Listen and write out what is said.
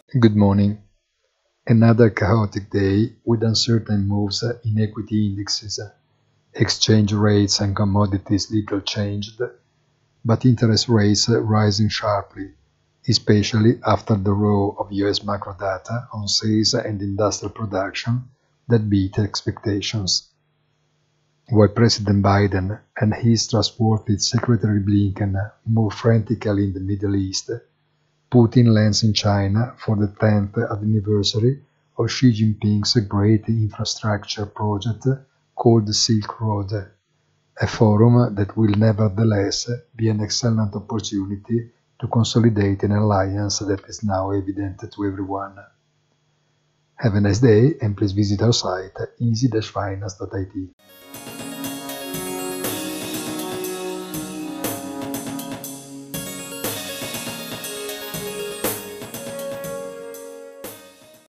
Good morning. Another chaotic day with uncertain moves in equity indexes, exchange rates and commodities little changed, but interest rates rising sharply, especially after the row of US macro data on sales and industrial production that beat expectations. While President Biden and his trustworthy Secretary Blinken move frantically in the Middle East, Putin lands in China for the 10th anniversary of Xi Jinping's great infrastructure project called the Silk Road, a forum that will nevertheless be an excellent opportunity to consolidate an alliance that is now evident to everyone. Have a nice day and please visit our site easy-finance.it.